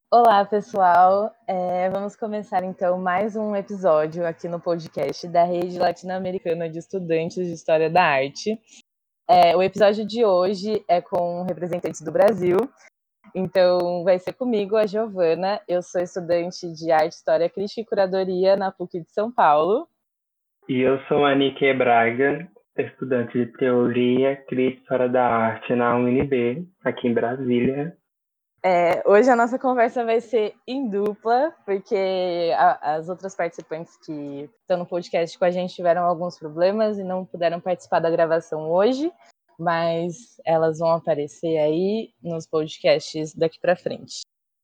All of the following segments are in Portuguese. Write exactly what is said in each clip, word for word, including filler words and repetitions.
Olá, pessoal. É, vamos começar então mais um episódio aqui no podcast da Rede Latino-Americana de Estudantes de História da Arte. É, o episódio de hoje é com representantes do Brasil. Então, vai ser comigo, a Giovana. Eu sou estudante de Arte, História, Crítica e Curadoria na PUC de São Paulo. E eu sou a Niké Braga, estudante de Teoria, Crítica e História da Arte na U N B, aqui em Brasília. É, hoje a nossa conversa vai ser em dupla, porque a, as outras participantes que estão no podcast com a gente tiveram alguns problemas e não puderam participar da gravação hoje, mas elas vão aparecer aí nos podcasts daqui para frente.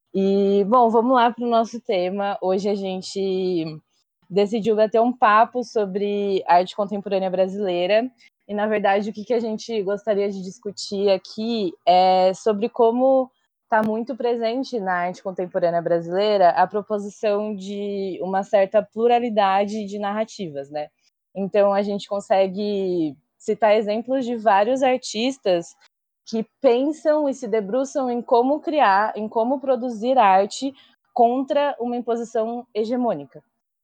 E, bom, vamos lá para o nosso tema. Hoje a gente decidiu bater um papo sobre arte contemporânea brasileira. E, na verdade, o que, que a gente gostaria de discutir aqui é sobre como está muito presente na arte contemporânea brasileira a proposição de uma certa pluralidade de narrativas, né? Então, a gente consegue citar exemplos de vários artistas que pensam e se debruçam em como criar, em como produzir arte contra uma imposição hegemônica.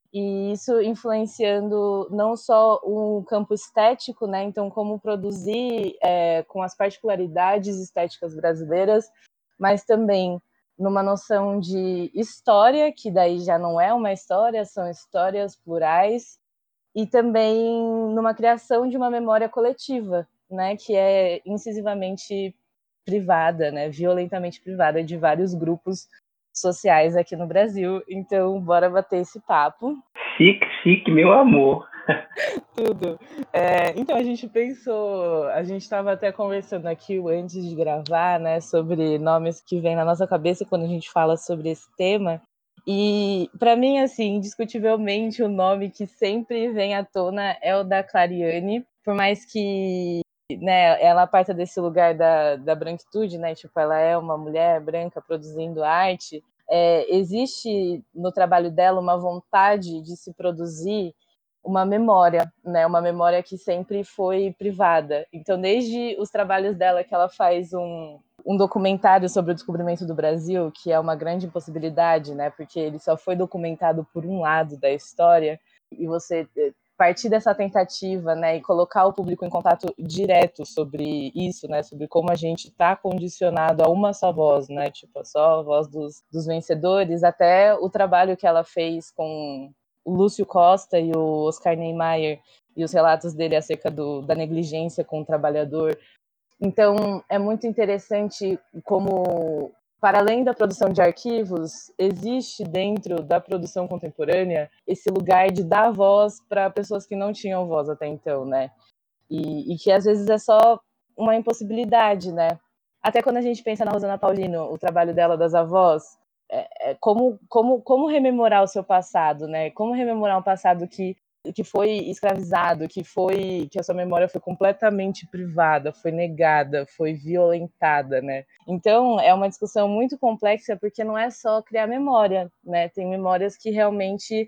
E isso influenciando não só o campo estético, né? Então, como produzir é, com as particularidades estéticas brasileiras, mas também numa noção de história, que daí já não é uma história, são histórias plurais, e também numa criação de uma memória coletiva, né, que é incisivamente privada, né, violentamente privada de vários grupos sociais aqui no Brasil. Então, bora bater esse papo. Chique, chique, meu amor. Tudo. É, então, a gente pensou, a gente estava até conversando aqui antes de gravar, né, sobre nomes que vêm na nossa cabeça quando a gente fala sobre esse tema. E, para mim, assim, indiscutivelmente, o nome que sempre vem à tona é o da Clariane, por mais que, né, ela parta desse lugar da, da branquitude, né, tipo, ela é uma mulher branca produzindo arte. É, existe no trabalho dela uma vontade de se produzir uma memória, né? Uma memória que sempre foi privada. Então, desde os trabalhos dela, que ela faz um, um documentário sobre o descobrimento do Brasil, que é uma grande impossibilidade, né? Porque ele só foi documentado por um lado da história, e você partir dessa tentativa, né, e colocar o público em contato direto sobre isso, né, sobre como a gente está condicionado a uma só voz, né, tipo, só a voz dos, dos vencedores, até o trabalho que ela fez com o Lúcio Costa e o Oscar Niemeyer e os relatos dele acerca do, da negligência com o trabalhador. Então, é muito interessante como, para além da produção de arquivos, existe dentro da produção contemporânea esse lugar de dar voz para pessoas que não tinham voz até então, né? E, e que às vezes é só uma impossibilidade, né? Até quando a gente pensa na Rosana Paulino, o trabalho dela das avós, é, é como, como, como rememorar o seu passado, né? Como rememorar um passado que que foi escravizado, que foi que a sua memória foi completamente privada, foi negada, foi violentada, né? Então é uma discussão muito complexa porque não é só criar memória, né? Tem memórias que realmente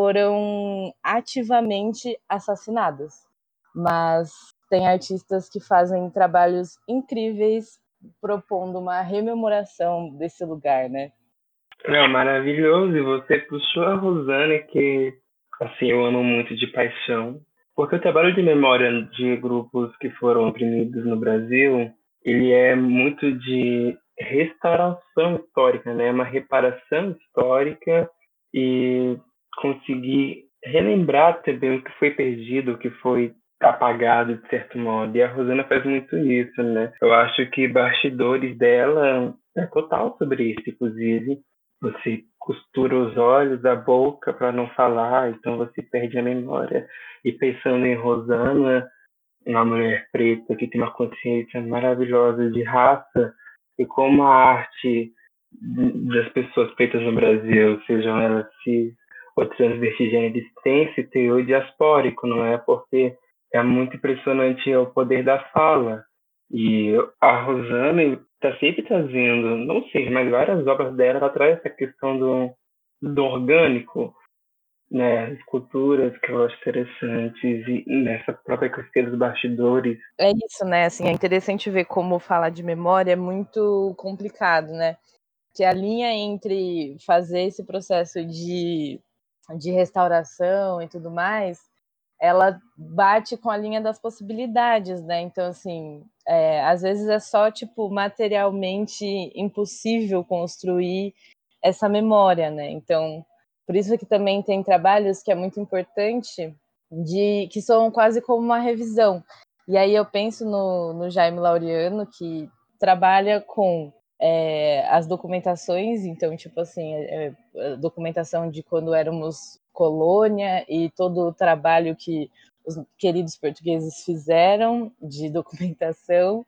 foram ativamente assassinadas, mas tem artistas que fazem trabalhos incríveis propondo uma rememoração desse lugar, né? Não, maravilhoso. E você puxou a Rosana, que assim, eu amo muito de paixão. Porque o trabalho de memória de grupos que foram oprimidos no Brasil, ele é muito de restauração histórica, né? Uma reparação histórica e conseguir relembrar também o que foi perdido, o que foi apagado de certo modo. E a Rosana faz muito isso, né? Eu acho que bastidores dela é total sobre isso, inclusive. Você costura os olhos, a boca para não falar, então você perde a memória. E pensando em Rosana, uma mulher preta que tem uma consciência maravilhosa de raça, e como a arte das pessoas pretas no Brasil, sejam elas cis ou transvertigêneres, tem esse teor diaspórico, não é? Porque é muito impressionante o poder da fala. E a Rosana está sempre trazendo, não sei, mas várias obras dela, ela traz essa questão do, do orgânico, né, esculturas que eu acho interessantes e nessa própria questão dos bastidores. É isso, né? Assim, é interessante ver como falar de memória é muito complicado, né? que a linha entre fazer esse processo de, de restauração e tudo mais, ela bate com a linha das possibilidades, né? Então, assim, é, às vezes é só, tipo, materialmente impossível construir essa memória, né? Então, por isso que também tem trabalhos que é muito importante, de, que são quase como uma revisão. E aí eu penso no, no Jaime Laureano, que trabalha com é, as documentações, então, tipo assim, é, é, documentação de quando éramos colônia e todo o trabalho que os queridos portugueses fizeram de documentação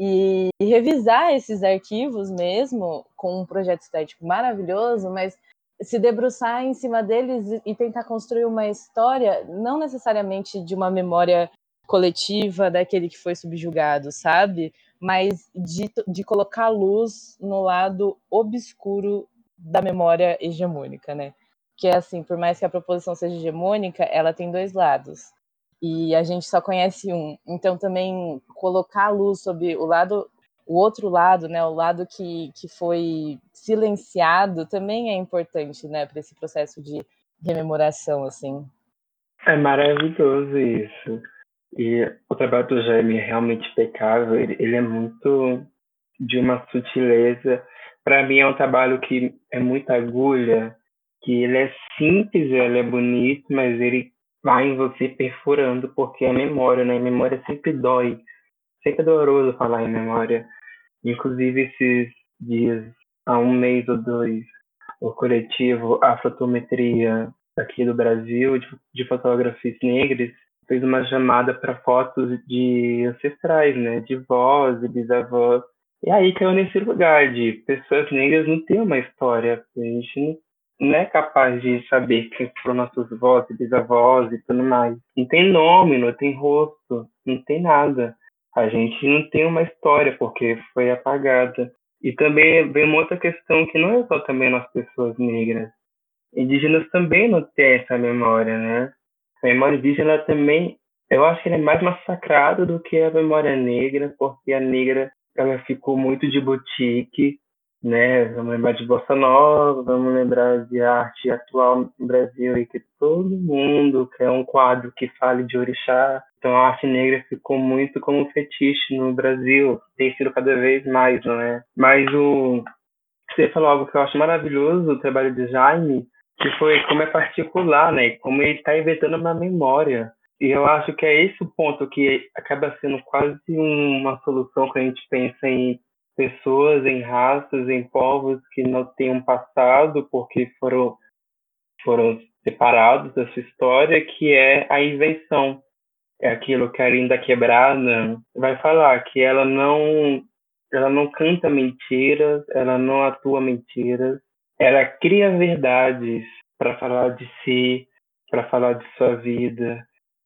e, e revisar esses arquivos mesmo com um projeto estético maravilhoso, mas se debruçar em cima deles e tentar construir uma história, não necessariamente de uma memória coletiva daquele que foi subjugado, sabe? Mas de, de colocar luz no lado obscuro da memória hegemônica, né? Que é assim, por mais que a proposição seja hegemônica, ela tem dois lados. E a gente só conhece um. Então também colocar a luz sobre o lado, o outro lado, né, o lado que, que foi silenciado, também é importante, né, para esse processo de rememoração, assim. É maravilhoso isso. E o trabalho do Jaime é realmente impecável. Ele, ele é muito de uma sutileza. Para mim é um trabalho que é muita agulha, que ele é simples, ele é bonito, mas ele vai em você perfurando, porque é memória, né? Memória sempre dói. Sempre é doloroso falar em memória. Inclusive, esses dias, há um mês ou dois, o coletivo Afrotometria aqui do Brasil, de, de fotógrafos negros, fez uma chamada para fotos de ancestrais, né? De vós e bisavós. E aí caiu nesse lugar de pessoas negras não têm uma história. A gente não, não é capaz de saber quem foram nossos vós e bisavós e tudo mais. Não tem nome, não tem rosto, não tem nada. A gente não tem uma história porque foi apagada. E também vem uma outra questão que não é só também nas pessoas negras. Indígenas também não têm essa memória, né? A memória indígena também, eu acho que ela é mais massacrada do que a memória negra, porque a negra ela ficou muito de boutique, né? Vamos lembrar de Bossa Nova, vamos lembrar de arte atual no Brasil e que todo mundo quer um quadro que fale de orixá. Então a arte negra ficou muito como fetiche no Brasil, tem sido cada vez mais, não é? Mas o você falou algo que eu acho maravilhoso, o trabalho de Jaime, que foi como é particular, né? Como ele está inventando uma memória. E eu acho que é esse o ponto que acaba sendo quase uma solução quando a gente pensa em pessoas, em raças, em povos que não têm um passado porque foram, foram separados da sua história, que é a invenção. É aquilo que a Linda Quebrada vai falar, que ela não ela não canta mentiras, ela não atua mentiras, ela cria verdades para falar de si, para falar de sua vida.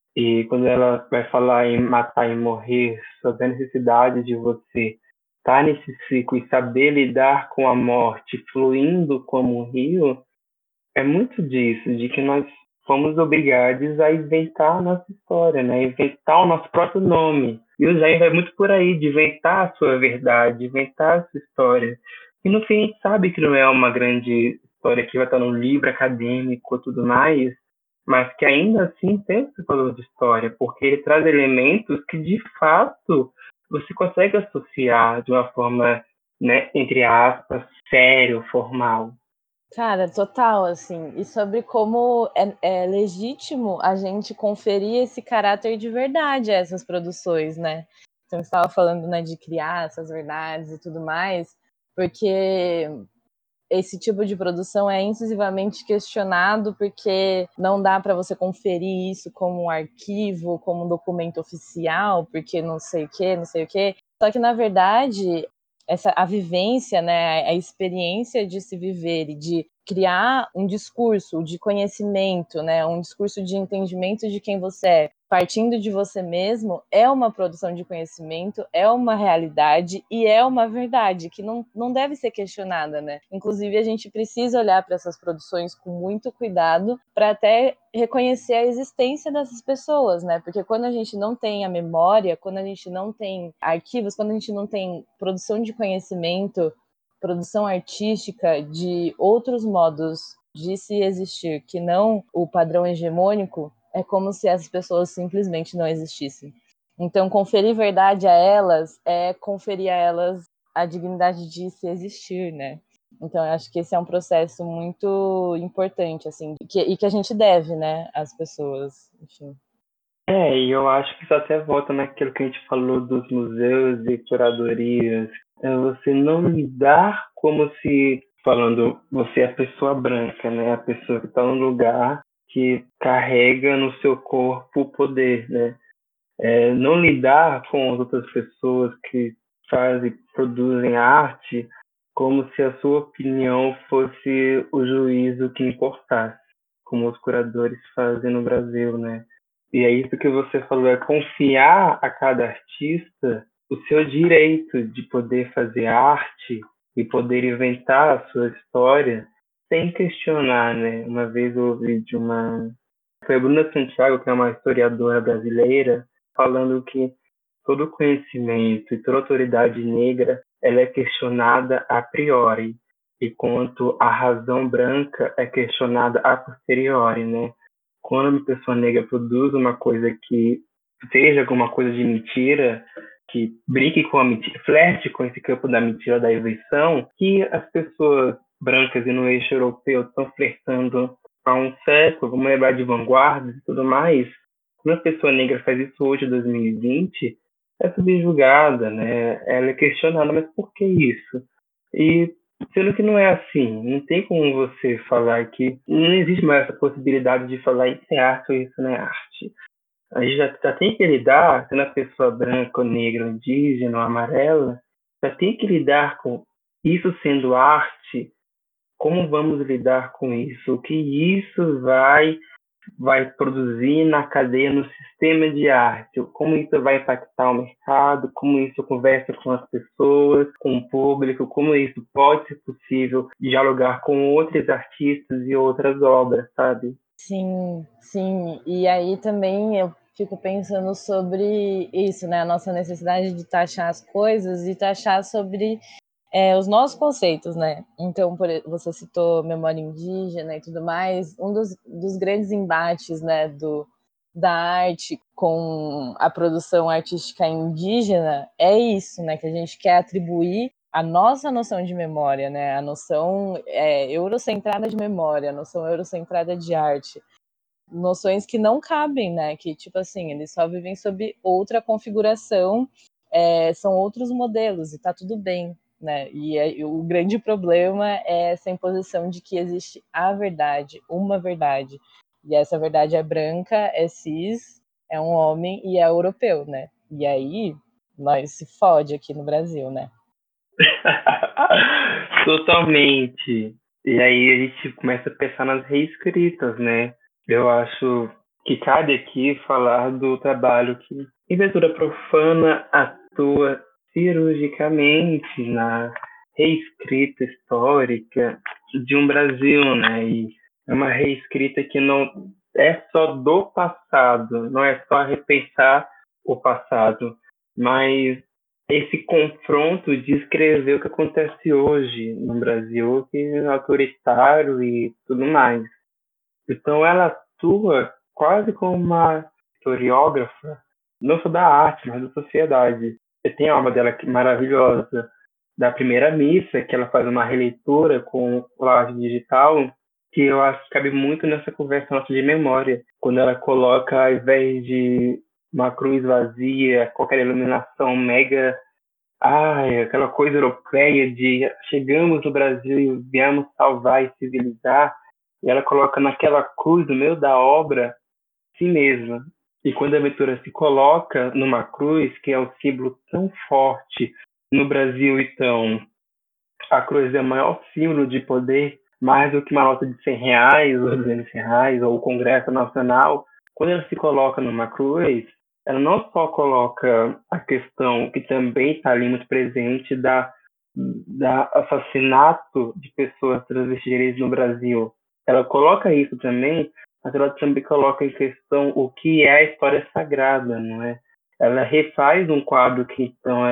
E quando ela vai falar em matar e morrer, sobre a necessidade de você estar nesse ciclo e saber lidar com a morte, fluindo como um rio, é muito disso, de que nós fomos obrigados a inventar a nossa história, né? Inventar o nosso próprio nome. E o Jair vai muito por aí, de inventar a sua verdade, inventar a sua história. E no fim a gente sabe que não é uma grande história que vai estar num livro acadêmico e tudo mais, mas que ainda assim tem esse valor de história, porque ele traz elementos que de fato você consegue associar de uma forma, né, entre aspas, sério, formal. Cara, total, assim, e sobre como é, é legítimo a gente conferir esse caráter de verdade a essas produções, né? Então, você estava falando, né, de criar essas verdades e tudo mais, porque esse tipo de produção é incisivamente questionado porque não dá para você conferir isso como um arquivo, como um documento oficial, porque não sei o que, não sei o que. Só que, na verdade, essa, a vivência, né, a experiência de se viver e de criar um discurso de conhecimento, né, um discurso de entendimento de quem você é, partindo de você mesmo, é uma produção de conhecimento, é uma realidade e é uma verdade que não, não deve ser questionada, né? Inclusive, a gente precisa olhar para essas produções com muito cuidado para até reconhecer a existência dessas pessoas, né? Porque quando a gente não tem a memória, quando a gente não tem arquivos, quando a gente não tem produção de conhecimento produção artística de outros modos de se existir, que não o padrão hegemônico, é como se essas pessoas simplesmente não existissem. Então, conferir verdade a elas é conferir a elas a dignidade de se existir, né? Então, eu acho que esse é um processo muito importante, assim, que, e que a gente deve, né, às pessoas, enfim. É, e eu acho que isso até volta naquilo que a gente falou dos museus e curadorias. É você não lidar como se, falando, você é a pessoa branca, né? A pessoa que está num lugar que carrega no seu corpo o poder, né? É, não lidar com as outras pessoas que fazem, produzem arte como se a sua opinião fosse o juízo que importasse, como os curadores fazem no Brasil, né? E é isso que você falou, é confiar a cada artista o seu direito de poder fazer arte e poder inventar a sua história sem questionar, né? Uma vez eu ouvi de uma... Foi a Bruna Santiago, que é uma historiadora brasileira, falando que todo conhecimento e toda autoridade negra ela é questionada a priori, enquanto a razão branca é questionada a posteriori, né? Quando uma pessoa negra produz uma coisa que seja alguma coisa de mentira, que brinque com a mentira, flerte com esse campo da mentira, da invenção, que as pessoas brancas e no eixo europeu estão flertando há um século, vamos lembrar de vanguardas e tudo mais. Quando a pessoa negra faz isso hoje, em dois mil e vinte, é subjugada, né? Ela é questionada, mas por que isso? E sendo que não é assim, não tem como você falar que não existe mais essa possibilidade de falar isso é arte ou isso não é arte. A gente já, já tem que lidar, sendo a pessoa branca, ou negra, ou indígena, ou amarela, já tem que lidar com isso sendo arte. Como vamos lidar com isso? O que isso vai vai produzir na cadeia, no sistema de arte, como isso vai impactar o mercado, como isso conversa com as pessoas, com o público, como isso pode ser possível dialogar com outros artistas e outras obras, sabe? Sim, sim. E aí também eu fico pensando sobre isso, né? A nossa necessidade de taxar as coisas e taxar sobre é, os nossos conceitos, né? Então, por, você citou memória indígena e tudo mais. Um dos, dos grandes embates, né, do, da arte com a produção artística indígena é isso, né? Que a gente quer atribuir a nossa noção de memória, né? A noção é, eurocentrada de memória, a noção eurocentrada de arte. Noções que não cabem, né? Que, tipo assim, eles só vivem sob outra configuração, é, são outros modelos, e tá tudo bem, né? E, é, e o grande problema é essa imposição de que existe a verdade, uma verdade. E essa verdade é branca, é cis, é um homem e é europeu, né? E aí, nós se fode aqui no Brasil, né? Totalmente. E aí a gente começa a pensar nas reescritas, né? Eu acho que cabe aqui falar do trabalho que Inventura Profana atua cirurgicamente na reescrita histórica de um Brasil, né? E é uma reescrita que não é só do passado, não é só repensar o passado, mas esse confronto de escrever o que acontece hoje no Brasil, que é autoritário e tudo mais. Então ela atua quase como uma historiógrafa, não só da arte, mas da sociedade. Você tem a obra dela que é maravilhosa, da Primeira Missa, que ela faz uma releitura com colagem digital, que eu acho que cabe muito nessa conversa nossa de memória, quando ela coloca, ao invés de uma cruz vazia, qualquer iluminação mega, ai, aquela coisa europeia de chegamos no Brasil e viemos salvar e civilizar, e ela coloca naquela cruz, no meio da obra, si mesma. E quando a aventura se coloca numa cruz, que é um símbolo tão forte no Brasil, então, a cruz é o maior símbolo de poder, mais do que uma nota de cem reais, ou duzentos reais, ou o Congresso Nacional. Quando ela se coloca numa cruz, ela não só coloca a questão que também está ali muito presente da, da assassinato de pessoas transgêneres no Brasil. Ela coloca isso também, mas ela também coloca em questão o que é a história sagrada, não é? Ela refaz um quadro que então eram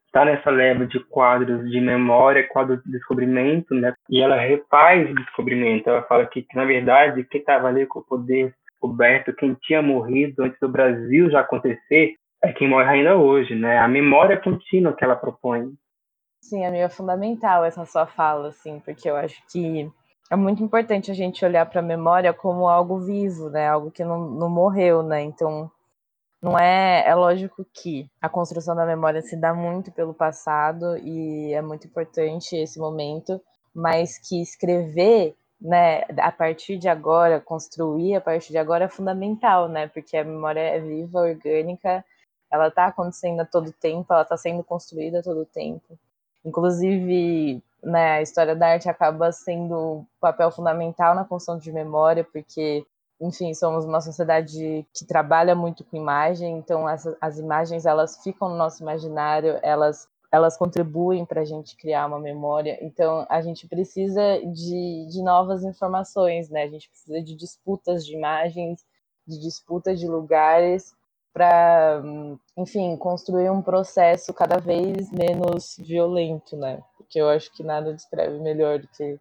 está nessa leva de quadros de memória, quadros de descobrimento, né? E ela refaz o descobrimento. Ela fala que, que na verdade, quem estava ali com o poder descoberto, quem tinha morrido antes do Brasil já acontecer, é quem morre ainda hoje, né? A memória contínua que ela propõe. Sim, amiga, é fundamental essa sua fala, assim, porque eu acho que é muito importante a gente olhar para a memória como algo vivo, né? Algo que não, não morreu, né? Então, não é, é lógico que a construção da memória se dá muito pelo passado e é muito importante esse momento, mas que escrever, né, a partir de agora, construir a partir de agora é fundamental, né? Porque a memória é viva, orgânica, ela está acontecendo a todo tempo, ela está sendo construída a todo tempo. Inclusive, né, a história da arte acaba sendo um papel fundamental na construção de memória, porque, enfim, somos uma sociedade que trabalha muito com imagem, então as, as imagens elas ficam no nosso imaginário, elas, elas contribuem para a gente criar uma memória, então a gente precisa de, de novas informações, né? A gente precisa de disputas de imagens, de disputas de lugares, para, enfim, construir um processo cada vez menos violento, né? Porque eu acho que nada descreve melhor do que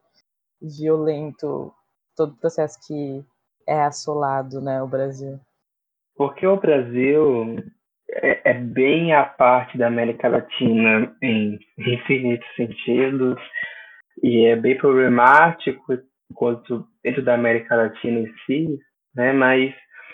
violento todo processo que é assolado, né, o Brasil. Porque o Brasil é, é bem a parte da América Latina em infinitos sentidos e é bem problemático quanto dentro da América Latina em si, né? Mas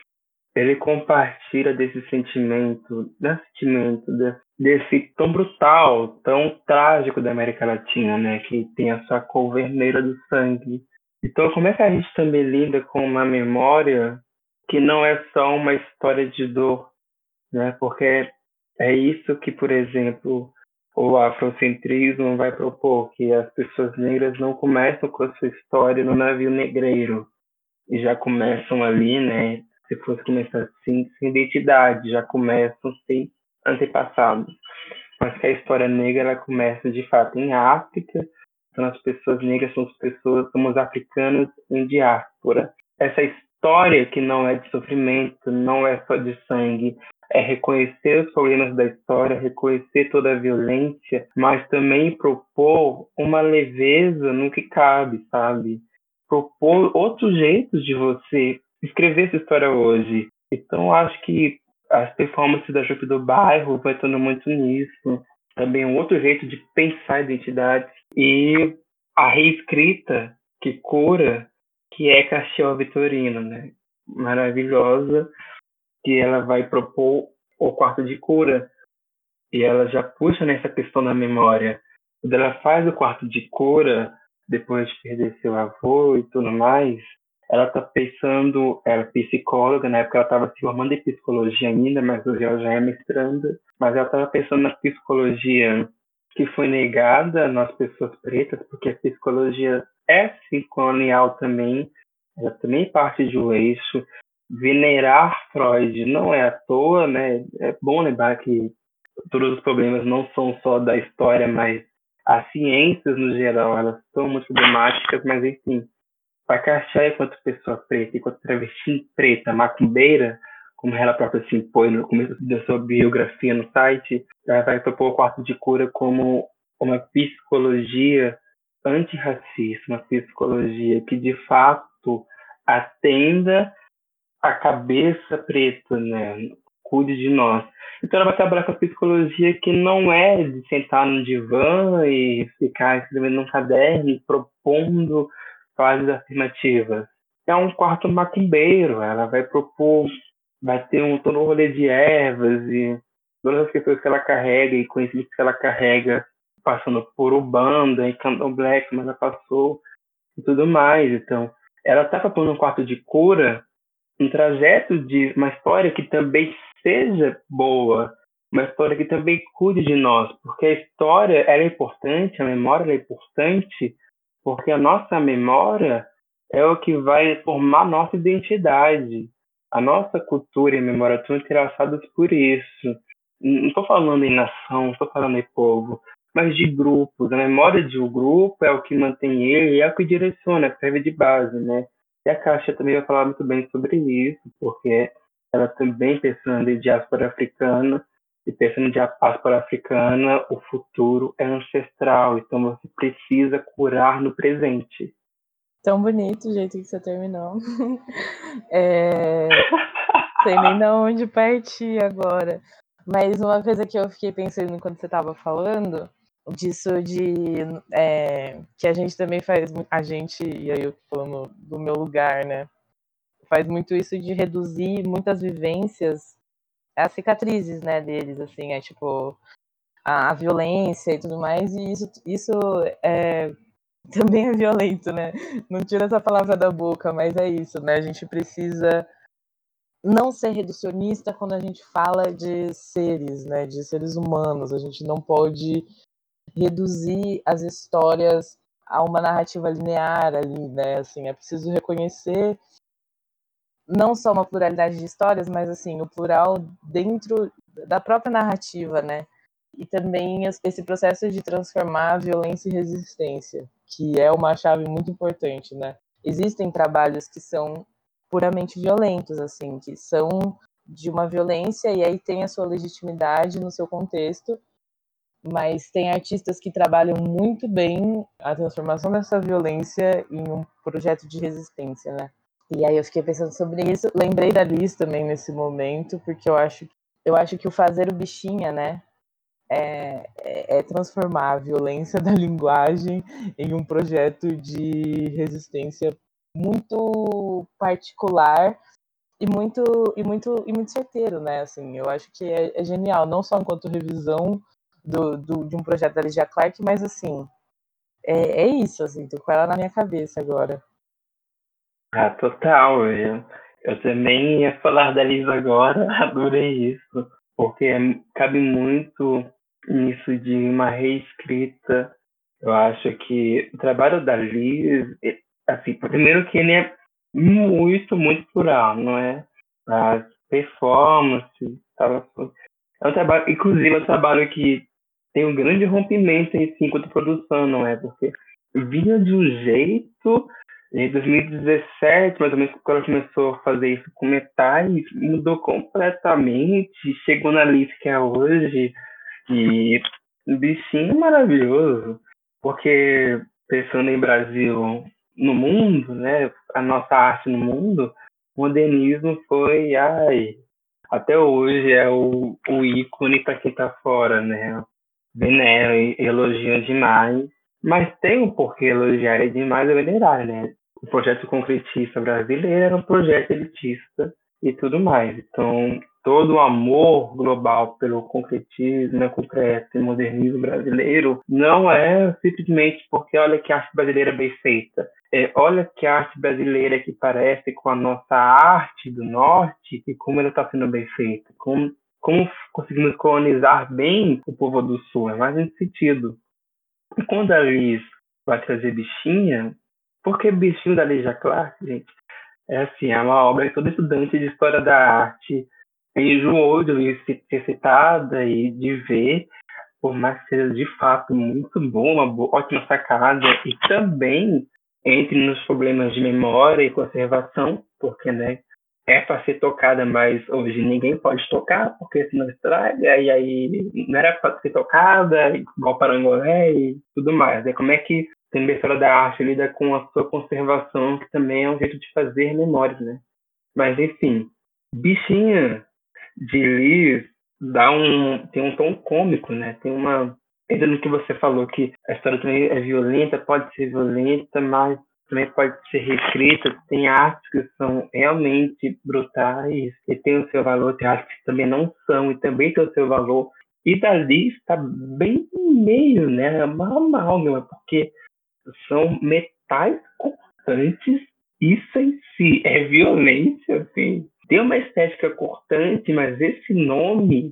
ele compartilha desse sentimento, desse sentimento, desse tão brutal, tão trágico da América Latina, né? Que tem a sua cor vermelha do sangue. Então, como é que a gente também lida com uma memória que não é só uma história de dor, né? Porque é isso que, por exemplo, o afrocentrismo vai propor, que as pessoas negras não começam com a sua história no navio negreiro, e já começam ali, né? Se fosse começar assim, sem identidade, já começam sem antepassados. Mas que a história negra ela começa de fato em África, então as pessoas negras são as pessoas, somos africanos em diáspora. Essa história que não é de sofrimento, não é só de sangue, é reconhecer os problemas da história, reconhecer toda a violência, mas também propor uma leveza no que cabe, sabe? Propor outros jeitos de você escrever essa história hoje. Então, acho que as performances da Jupe do Bairro vai estando muito nisso. Também um outro jeito de pensar a identidade. E a reescrita que cura, que é Castiel Vitorino, né? Maravilhosa, que ela vai propor o quarto de cura. E ela já puxa nessa questão da memória. Quando ela faz o quarto de cura, depois de perder seu avô e tudo mais, ela está pensando, ela é psicóloga, na época ela estava se formando em psicologia ainda, mas hoje ela já é mestranda, mas ela estava pensando na psicologia que foi negada nas pessoas pretas, porque a psicologia é sim colonial também, ela também parte de um eixo. Venerar Freud não é à toa, né? É bom lembrar que todos os problemas não são só da história, mas as ciências no geral, elas são muito problemáticas, mas enfim, para Cachai, enquanto pessoa preta, enquanto travesti preta, macumbeira, como ela própria se impõe no começo da sua biografia no site, ela vai propor o quarto de cura como uma psicologia antirracista, uma psicologia que de fato atenda a cabeça preta, né? Cuide de nós. Então ela vai trabalhar com a psicologia que não é de sentar no divã e ficar escrevendo num caderno, propondo frases afirmativas. É um quarto macumbeiro, ela vai propor, vai ter um todo um rolê de ervas e todas as questões que ela carrega e conhecimentos que ela carrega, passando por Ubanda e Candomblé, como ela passou e tudo mais. Então, ela está propondo um quarto de cura, um trajeto de uma história que também seja boa, uma história que também cuide de nós, porque a história ela é importante, a memória é importante, porque a nossa memória é o que vai formar a nossa identidade. A nossa cultura e memória estão entrelaçadas por isso. Não estou falando em nação, não estou falando em povo, mas de grupos. A memória de um grupo é o que mantém ele e é o que direciona, serve de base, né? E a Caixa também vai falar muito bem sobre isso, porque ela também pensando em diáspora africana, E pensando na diáspora africana, o futuro é ancestral, então você precisa curar no presente. Tão bonito o jeito que você terminou. É... Sei nem de onde partir agora. Mas uma coisa que eu fiquei pensando enquanto você estava falando, disso de é, que a gente também faz, a gente, e aí eu tô falando do meu lugar, né? Faz muito isso de reduzir muitas vivências as cicatrizes, né, deles, assim, é tipo a, a violência e tudo mais, e isso, isso é, também é violento, né? Não tira essa palavra da boca, mas é isso, né? A gente precisa não ser reducionista quando a gente fala de seres, né, de seres humanos. A gente não pode reduzir as histórias a uma narrativa linear ali, né? Assim, é preciso reconhecer não só uma pluralidade de histórias, mas assim, o plural dentro da própria narrativa, né? E também esse processo de transformar a violência em resistência, que é uma chave muito importante, né? Existem trabalhos que são puramente violentos, assim, que são de uma violência e aí tem a sua legitimidade no seu contexto, mas tem artistas que trabalham muito bem a transformação dessa violência em um projeto de resistência, né? E aí eu fiquei pensando sobre isso, lembrei da Liz também nesse momento, porque eu acho, eu acho que o fazer o bichinha, né, é, é, é transformar a violência da linguagem em um projeto de resistência muito particular e muito e muito e muito certeiro, né? Assim, eu acho que é, é genial, não só enquanto revisão do, do, de um projeto da Lydia Clark, mas assim, é, é isso, assim, tô com ela na minha cabeça agora. Ah, total. Eu, eu também ia falar da Liz agora, adorei isso, porque cabe muito nisso de uma reescrita. Eu acho que o trabalho da Liz, assim, primeiro que ele é muito, muito plural, não é? As performances, tal, é um trabalho, inclusive é um trabalho que tem um grande rompimento em si enquanto produção, não é? Porque vinha de um jeito, em dois mil e dezessete, mais ou menos, quando ela começou a fazer isso com metais, mudou completamente, chegou na lista que é hoje, e o bichinho é maravilhoso, porque pensando em Brasil, no mundo, né, a nossa arte no mundo, o modernismo foi, ai, até hoje é o, o ícone para quem tá fora, né? Venera e elogia demais, mas tem um porquê elogiar é demais e venerar, né? O projeto concretista brasileiro era um projeto elitista e tudo mais. Então, todo o amor global pelo concretismo, né, concreto e modernismo brasileiro não é simplesmente porque olha que arte brasileira bem feita. É, olha que arte brasileira que parece com a nossa arte do norte e como ela está sendo bem feita, como como conseguimos colonizar bem o povo do sul, é mais nesse sentido. E quando a Liz vai trazer bichinha, porque bichinho da Lígia Clark, gente, é assim, é uma obra que todo estudante de história da arte enjoou de ouvir ser citada e de ver, por mais que seja de fato muito bom, uma boa, ótima sacada, e também entre nos problemas de memória e conservação, porque, né, é para ser tocada, mas hoje ninguém pode tocar, porque senão estraga, e aí não era para ser tocada, igual Parangolé e tudo mais. É como é que a história da arte lida com a sua conservação, que também é um jeito de fazer memórias, né? Mas, enfim, Bichinha de Liz dá um, tem um tom cômico, né? Tem uma... Ainda no que você falou, que a história também é violenta, pode ser violenta, mas também pode ser reescrita. Tem artes que são realmente brutais e tem o seu valor, tem artes que também não são e também tem o seu valor. E dali está bem no meio, né? É uma amálgama, porque são metais cortantes. Isso em si é violência, assim. Tem uma estética cortante, mas esse nome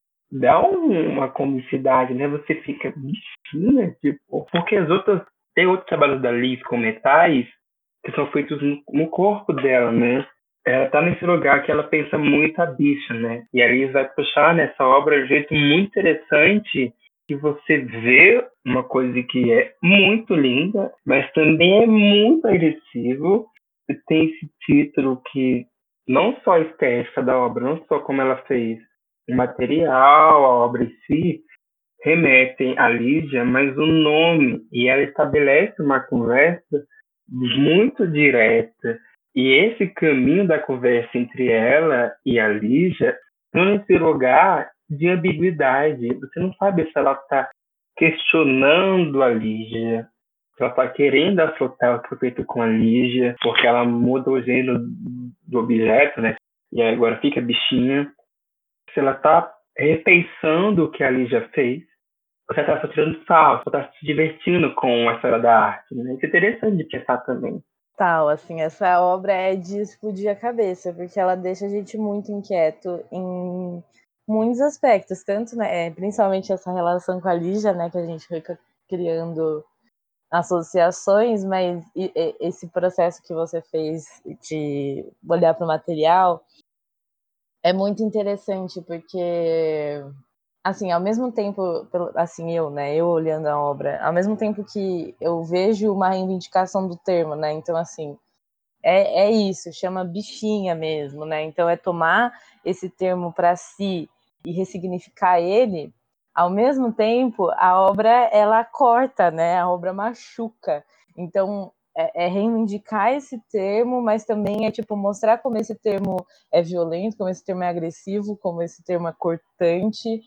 dá um, uma comicidade, né? Você fica bichinha, tipo, porque as outras tem outros trabalhos da Liz com metais que são feitos no, no corpo dela, né? Ela tá nesse lugar que ela pensa muito a bicha, né? E a Liz vai puxar nessa obra de um jeito muito interessante que você vê uma coisa que é muito linda, mas também é muito agressivo. E tem esse título que não só a estética da obra, não só como ela fez, O material, a obra em si, remetem a Lígia, mas o nome, e ela estabelece uma conversa muito direta. E esse caminho da conversa entre ela e a Lígia não nesse lugar de ambiguidade. Você não sabe se ela está questionando a Lígia, se ela está querendo afrontar o que foi feito com a Lígia, porque ela muda o gênero do objeto, né? E agora fica bichinha. Se ela está repensando o que a Lígia fez, você está só tirando sal, só está se divertindo com a história da arte, né? Isso é interessante de pensar também. Tal, assim, essa obra é de explodir a cabeça, porque ela deixa a gente muito inquieto em muitos aspectos, tanto, né, principalmente essa relação com a Lígia, né, que a gente fica criando associações, mas esse processo que você fez de olhar para o material é muito interessante, porque assim, ao mesmo tempo, assim, eu, né, eu olhando a obra, ao mesmo tempo que eu vejo uma reivindicação do termo, né, então, assim, é, é isso, chama bichinha mesmo, né, então é tomar esse termo para si e ressignificar ele, ao mesmo tempo, a obra, ela corta, né, a obra machuca, então é, é reivindicar esse termo, mas também é, tipo, mostrar como esse termo é violento, como esse termo é agressivo, como esse termo é cortante.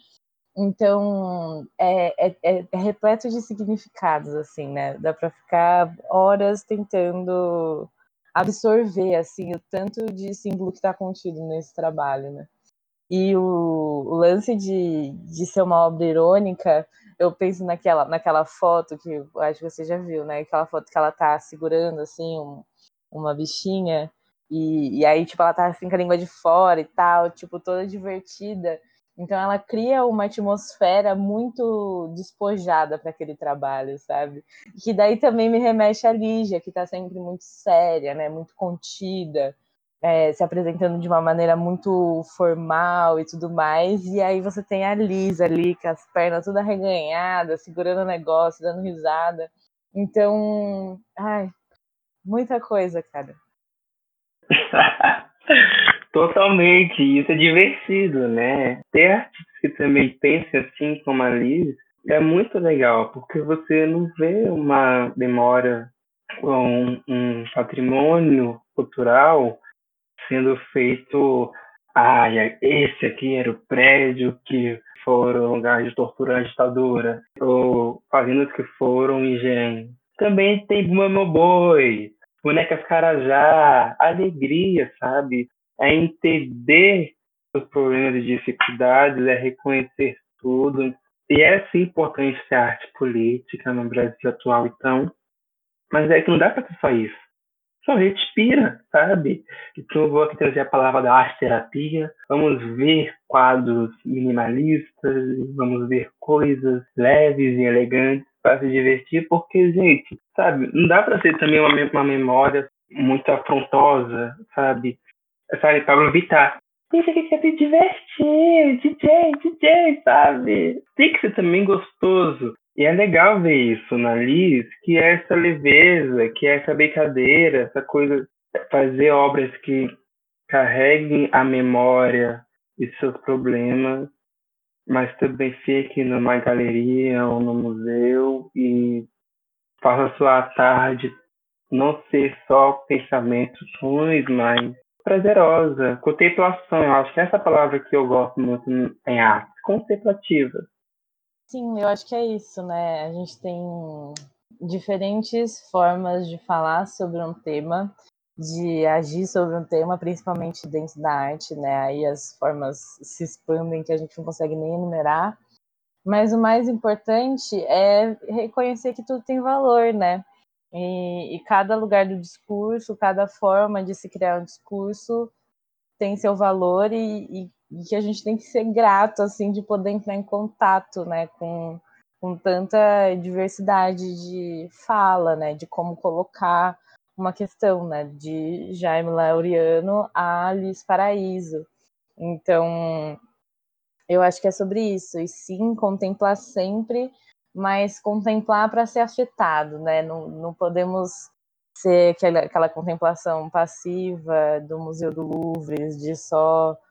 Então, é, é, é repleto de significados, assim, né? Dá para ficar horas tentando absorver, assim, o tanto de símbolo que está contido nesse trabalho, né? E o, o lance de, de ser uma obra irônica, eu penso naquela, naquela foto que eu acho que você já viu, né? Aquela foto que ela tá segurando, assim, um, uma bichinha, e, e aí, tipo, ela tá assim com a língua de fora e tal, tipo, toda divertida. Então ela cria uma atmosfera muito despojada para aquele trabalho, sabe? Que daí também me remete a Lígia, que tá sempre muito séria, né? Muito contida, é, se apresentando de uma maneira muito formal e tudo mais, e aí você tem a Liz ali, com as pernas toda arreganhadas, segurando o negócio, dando risada. Então, ai, muita coisa, cara. Totalmente, isso é divertido, né? Ter artistas que também pensem assim como a Liz é muito legal, porque você não vê uma memória ou um, um patrimônio cultural sendo feito. Ah, esse aqui era o prédio que foram lugares de tortura na ditadura, ou fazendas que foram engenho. Também tem Bumba Boi, Bonecas Carajá, alegria, sabe? É entender os problemas e dificuldades, é reconhecer tudo. E é sim importante ser arte política no Brasil atual, então, mas é que não dá para ser só isso. Só respira, sabe? Então eu vou aqui trazer a palavra da arte terapia. Vamos ver quadros minimalistas, vamos ver coisas leves e elegantes para se divertir, porque, gente, sabe, não dá para ser também uma, uma memória muito afrontosa, sabe? Sabe, Pablo Vittar. Isso aqui quer se divertir, D J, D J, sabe? Tem que ser também gostoso. E é legal ver isso na Liz, que é essa leveza, que é essa brincadeira, essa coisa, fazer obras que carreguem a memória de seus problemas, mas também fique numa galeria ou no museu e faça a sua tarde não ser só pensamentos ruins, mas prazerosa, contemplação. Eu acho que essa palavra que eu gosto muito em arte, contemplativa. Sim, eu acho que é isso, né? A gente tem diferentes formas de falar sobre um tema, de agir sobre um tema, principalmente dentro da arte, né? Aí as formas se expandem que a gente não consegue nem enumerar. Mas o mais importante é reconhecer que tudo tem valor, né? E, e cada lugar do discurso, cada forma de se criar um discurso tem seu valor e, e, e que a gente tem que ser grato, assim, de poder entrar em contato, né, com, com tanta diversidade de fala, né, de como colocar uma questão, né, de Jaime Laureano a Alice Paraíso. Então, eu acho que é sobre isso, e sim, contemplar sempre, mas contemplar para ser afetado, né, não, não podemos ser aquela, aquela contemplação passiva do Museu do Louvre, de só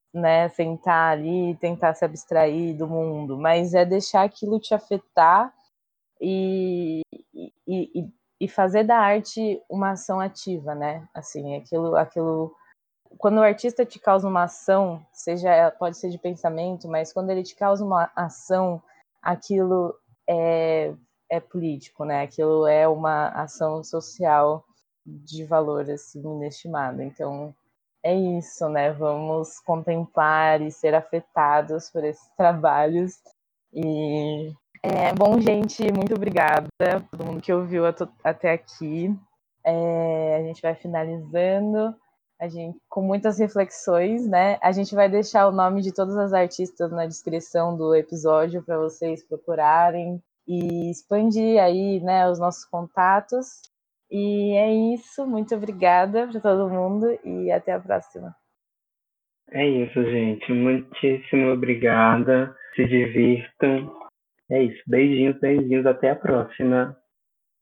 né, sentar ali e tentar se abstrair do mundo, mas é deixar aquilo te afetar e, e, e, e fazer da arte uma ação ativa, né? Assim, aquilo, aquilo. Quando o artista te causa uma ação, seja pode ser de pensamento, mas quando ele te causa uma ação, aquilo é, é político, né? Aquilo é uma ação social de valor assim inestimado. Então é isso, né? Vamos contemplar e ser afetados por esses trabalhos. E é bom, gente, muito obrigada a todo mundo que ouviu até aqui. É, a gente vai finalizando, a gente, com muitas reflexões, né? A gente vai deixar o nome de todas as artistas na descrição do episódio para vocês procurarem e expandir aí, né, os nossos contatos. E é isso, muito obrigada para todo mundo e até a próxima. É isso, gente. Muitíssimo obrigada. Se divirtam. É isso. Beijinhos, beijinhos. Até a próxima.